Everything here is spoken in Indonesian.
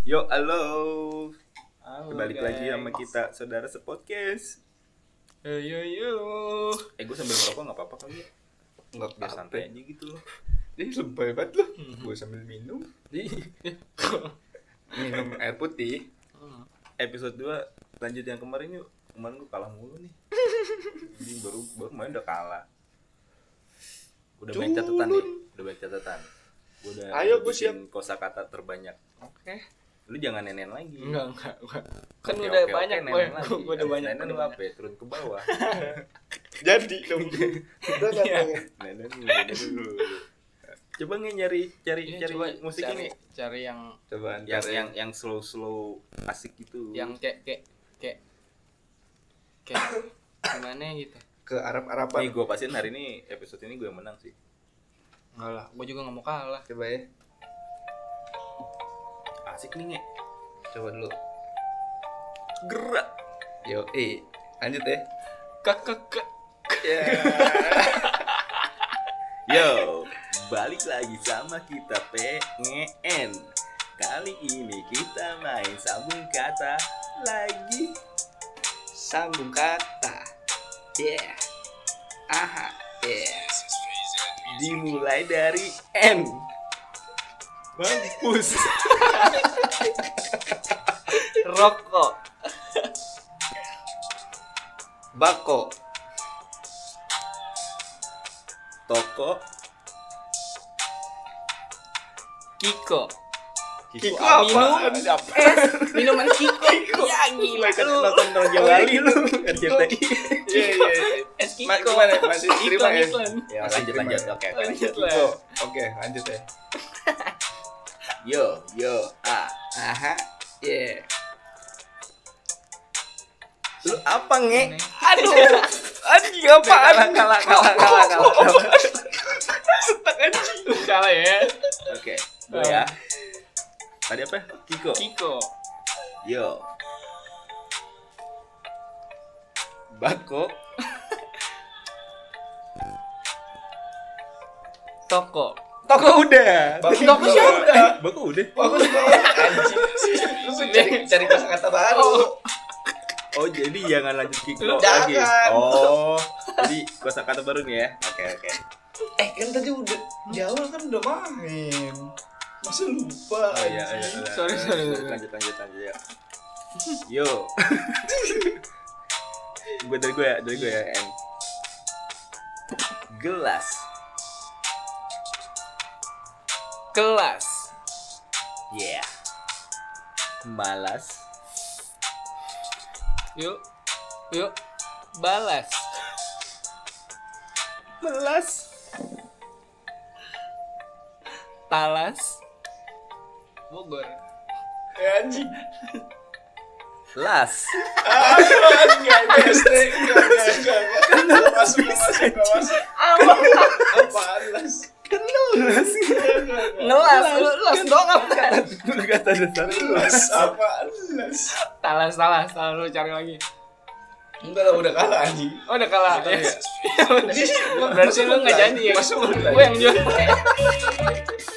Yo, halo. Halo, Balik guys. lagi sama kita, saudara sepodcast. Yo. Gue sambil ngerokok nggak apa-apa kali ya? Nggak Biar apa-apa. santai aja gitu loh. Ih, lebay banget lu. Gue sambil minum. Minum air putih. Episode 2 lanjut yang kemarin yuk. Kemarin gue kalah mulu nih. Ini baru kemarin udah kalah. Udah banyak catatan nih. Gue udah Ayo, gue bikin kosakata terbanyak. Oke. Lu jangan nenen lagi. Enggak. Kan Oke, udah oke, banyak oke, gue. nenen lagi. Gue udah banyak. Nenen lu apa ya? Turun ke bawah. Jadi dong. Udah kan. Iya. Nenen dulu. Coba cari Coba musik ini. Cari yang Coba Yang slow asik gitu. kayak gimana gitu. ke Arab-Araban. Nih gue pastiin hari ini episode ini gue yang menang sih. Enggak lah, gue juga enggak mau kalah. Coba ya. Asik nih nge. Coba dulu. Gerak. Yo, lanjut ya. Kak. Ya. Yo, balik lagi sama kita PNN. Kali ini kita main sambung kata lagi. Sambung kata. Yeah. Aha. Yeah. Dimulai dari N. Mampus. Rokok. Bako. Toko. Kiko. Kiko apa? Apa? Minuman Kiko. Ya gila Kan lu. nonton Raja Wali lu. RCTI. Iya. Es Kiko. Gimana? Masih terima ya? Iklan. Ya Masih lanjut. terima. Oke. Lanjut lah. Kiko. Oke, lanjut ya. Yo. Aha. Yeah. Lu apa nge? Aduh. Anjing apaan? Kalah. Setak anjing. Kalah ya. Oke, gue ya. Tadi apa? Kiko. Kiko. Yo. Bako. Toko. Toko udah. Toko siapa? Bako udah. Bagus banget anjing. Lu tuh cari kata baru. Oh, jadi jangan lanjut Kiko Lu lagi. jangan. Oh, jadi kosakata baru nih ya. Oke. Kan tadi udah di awal kan udah main. Masa lupa? Oh iya. Sorry. Lanjut ya. Yo. Dari gue ya. N. Gelas. Kelas. Yeah. Malas. Yuk. Balas. Melas. Talas. Bogor. Anjing. Las. Enggak. Masuk. Apaan las? Las. Ngelas dong apa? Kata dasar Las apaan las? Talas lu cari lagi. Enggak lah, udah kalah anjing. Oh udah kalah ya. Berarti lu nggak janji ya. Masuk. Gue yang jual.